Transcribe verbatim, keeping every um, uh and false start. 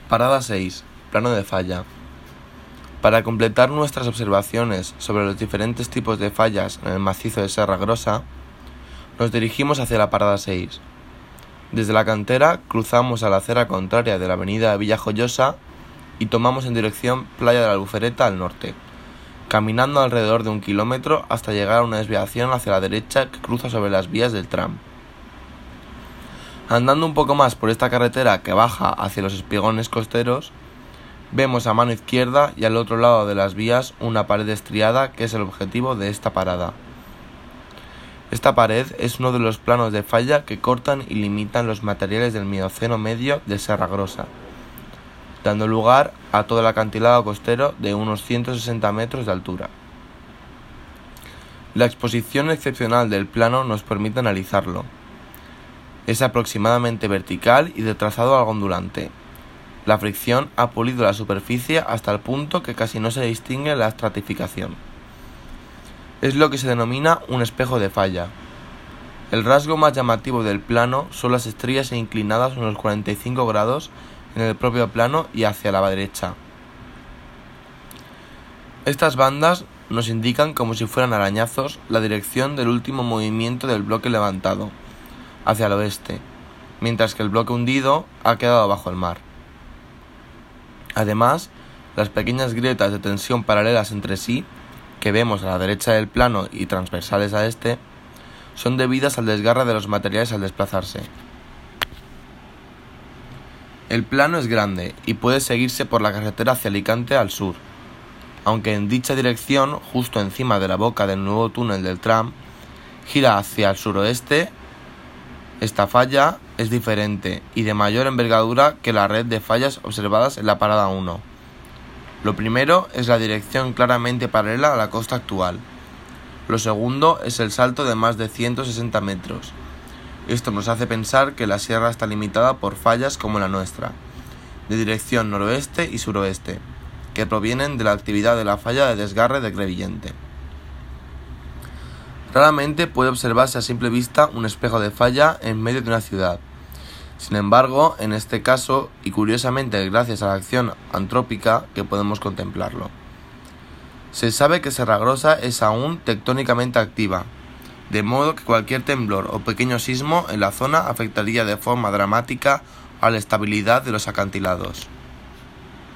Parada seis. Plano de falla. Para completar nuestras observaciones sobre los diferentes tipos de fallas en el macizo de Serra Grossa, nos dirigimos hacia la parada seis. Desde la cantera cruzamos a la acera contraria de la avenida Villajoyosa y tomamos en dirección Playa de la Albufereta al norte, caminando alrededor de un kilómetro hasta llegar a una desviación hacia la derecha que cruza sobre las vías del tram. Andando un poco más por esta carretera que baja hacia los espigones costeros, vemos a mano izquierda y al otro lado de las vías una pared estriada que es el objetivo de esta parada. Esta pared es uno de los planos de falla que cortan y limitan los materiales del Mioceno medio de Serra Grossa, dando lugar a todo el acantilado costero de unos ciento sesenta metros de altura. La exposición excepcional del plano nos permite analizarlo. Es aproximadamente vertical y de trazado algo ondulante. La fricción ha pulido la superficie hasta el punto que casi no se distingue la estratificación. Es lo que se denomina un espejo de falla. El rasgo más llamativo del plano son las estrías inclinadas unos cuarenta y cinco grados en el propio plano y hacia la derecha. Estas bandas nos indican como si fueran arañazos la dirección del último movimiento del bloque levantado, hacia el oeste, mientras que el bloque hundido ha quedado bajo el mar. Además, las pequeñas grietas de tensión paralelas entre sí, que vemos a la derecha del plano y transversales a este, son debidas al desgarre de los materiales al desplazarse. El plano es grande y puede seguirse por la carretera hacia Alicante al sur, aunque en dicha dirección, justo encima de la boca del nuevo túnel del tram, gira hacia el suroeste. Esta falla es diferente y de mayor envergadura que la red de fallas observadas en la parada uno. Lo primero es la dirección claramente paralela a la costa actual. Lo segundo es el salto de más de ciento sesenta metros. Esto nos hace pensar que la sierra está limitada por fallas como la nuestra, de dirección noroeste y suroeste, que provienen de la actividad de la falla de desgarre de Crevillente. Raramente puede observarse a simple vista un espejo de falla en medio de una ciudad. Sin embargo, en este caso, y curiosamente gracias a la acción antrópica, que podemos contemplarlo. Se sabe que Serra Grossa es aún tectónicamente activa, de modo que cualquier temblor o pequeño sismo en la zona afectaría de forma dramática a la estabilidad de los acantilados.